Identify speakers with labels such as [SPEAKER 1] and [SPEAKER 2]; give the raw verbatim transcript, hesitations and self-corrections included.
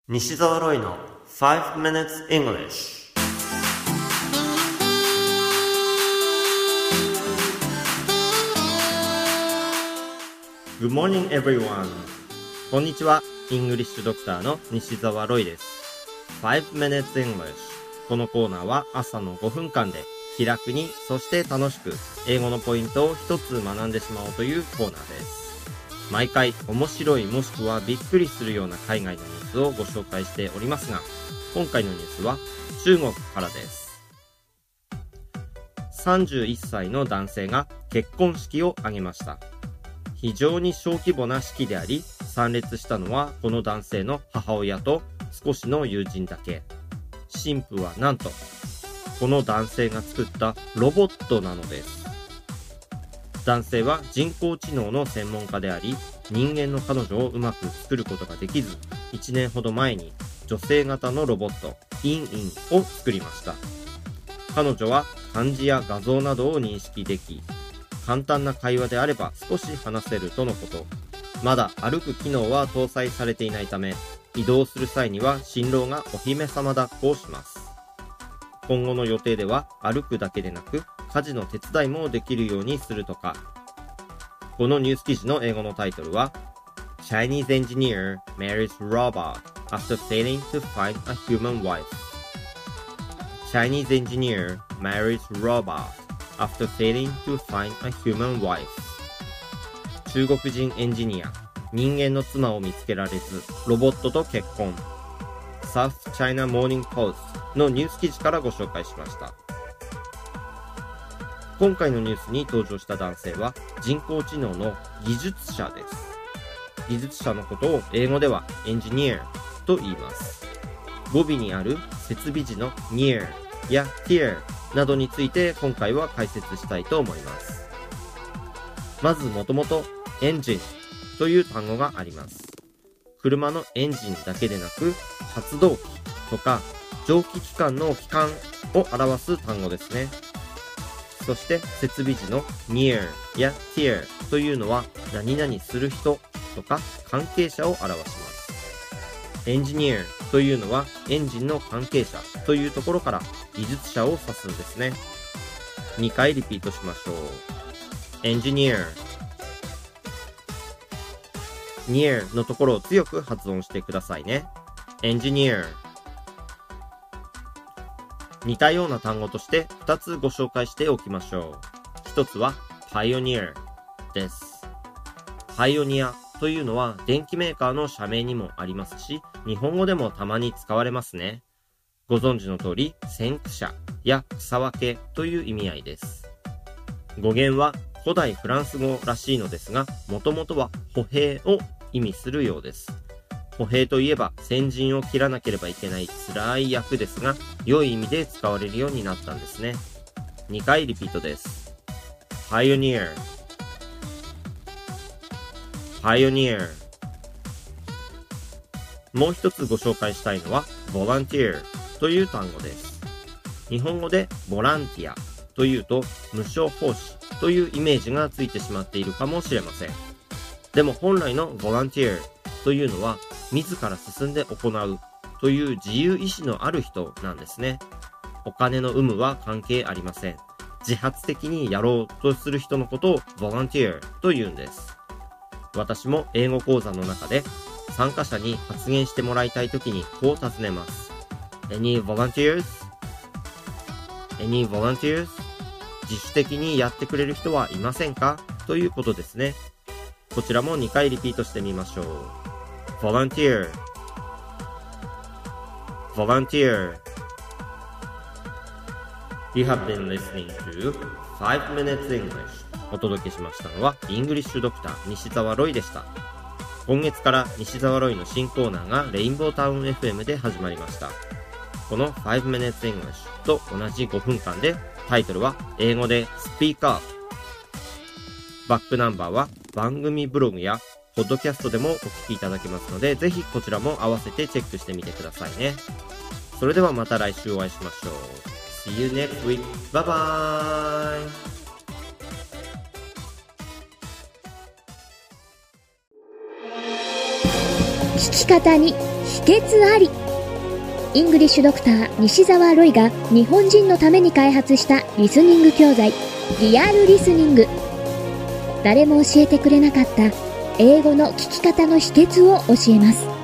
[SPEAKER 1] 西澤ロイの five minutes English。 Good morning everyone。 こんにちは。イングリッシュドクターの西澤ロイです。 five minutes English。 このコーナーは朝のごふんかんで気楽に、そして楽しく英語のポイントを一つ学んでしまおうというコーナーです。毎回面白いもしくはびっくりするような海外のニュースをご紹介しておりますが、今回のニュースは中国からです。さんじゅういっさいの男性が結婚式を挙げました。非常に小規模な式であり、参列したのはこの男性の母親と少しの友人だけ。新婦はなんとこの男性が作ったロボットなのです。男性は人工知能の専門家であり、人間の彼女をうまく作ることができず、いちねんほど前に女性型のロボットインインを作りました。彼女は漢字や画像などを認識でき、簡単な会話であれば少し話せるとのこと。まだ歩く機能は搭載されていないため、移動する際には新郎がお姫様抱っこをします。今後の予定では歩くだけでなく家事の手伝いもできるようにするとか。このニュース記事の英語のタイトルは Chinese engineer marries robot after failing to find a human wife。 Chinese engineer marries robot after failing to find a human wife。 中国人エンジニア、人間の妻を見つけられずロボットと結婚。South China Morning Post のニュース記事からご紹介しました。今回のニュースに登場した男性は人工知能の技術者です。技術者のことを英語ではエンジニアと言います。語尾にある設備時の near や here などについて今回は解説したいと思います。まずもともとエンジンという単語があります。車のエンジンだけでなく発動機とか蒸気機関の機関を表す単語ですね。そして設備時の near や here というのは何々する人とか関係者を表します。エンジニアというのはエンジンの関係者というところから技術者を指すんですね。にかいリピートしましょう。エンジニア、near のところを強く発音してくださいね。エンジニア。似たような単語としてふたつご紹介しておきましょう。ひとつはパイオニアです。パイオニアというのは電機メーカーの社名にもありますし、日本語でもたまに使われますね。ご存知の通り先駆者や草分けという意味合いです。語源は古代フランス語らしいのですが、もともとは歩兵を意味するようです。歩兵といえば先陣を切らなければいけない辛い役ですが、良い意味で使われるようになったんですね。にかいリピートです。Pioneer Pioneer。 もう一つご紹介したいのは Volunteer という単語です。日本語でボランティアというと無償奉仕というイメージがついてしまっているかもしれません。でも本来の Volunteer というのは自ら進んで行うという自由意志のある人なんですね。お金の有無は関係ありません。自発的にやろうとする人のことを Volunteer と言うんです。私も英語講座の中で参加者に発言してもらいたいときにこう尋ねます。 Any volunteers? Any volunteers? 自主的にやってくれる人はいませんかということですね。こちらもにかいリピートしてみましょう。Volunteer Volunteer。 You have been listening to five minutes English。 お届けしましたのはイングリッシュドクター西澤ロイでした。今月から西澤ロイの新コーナーがレインボータウン エフエム で始まりました。このfive minutes English と同じごふんかんでタイトルは英語で Speak Up。 バックナンバーは番組ブログやポッドキャストでもお聞きいただけますので、ぜひこちらも合わせてチェックしてみてくださいね。それではまた来週お会いしましょう。See you next week. Bye bye.
[SPEAKER 2] 聞き方に訣あり。イングリッシュドクター西澤ロイが日本人のために開発したリスニング教材、リアルリスニング。誰も教えてくれなかった英語の聞き方の秘訣を教えます。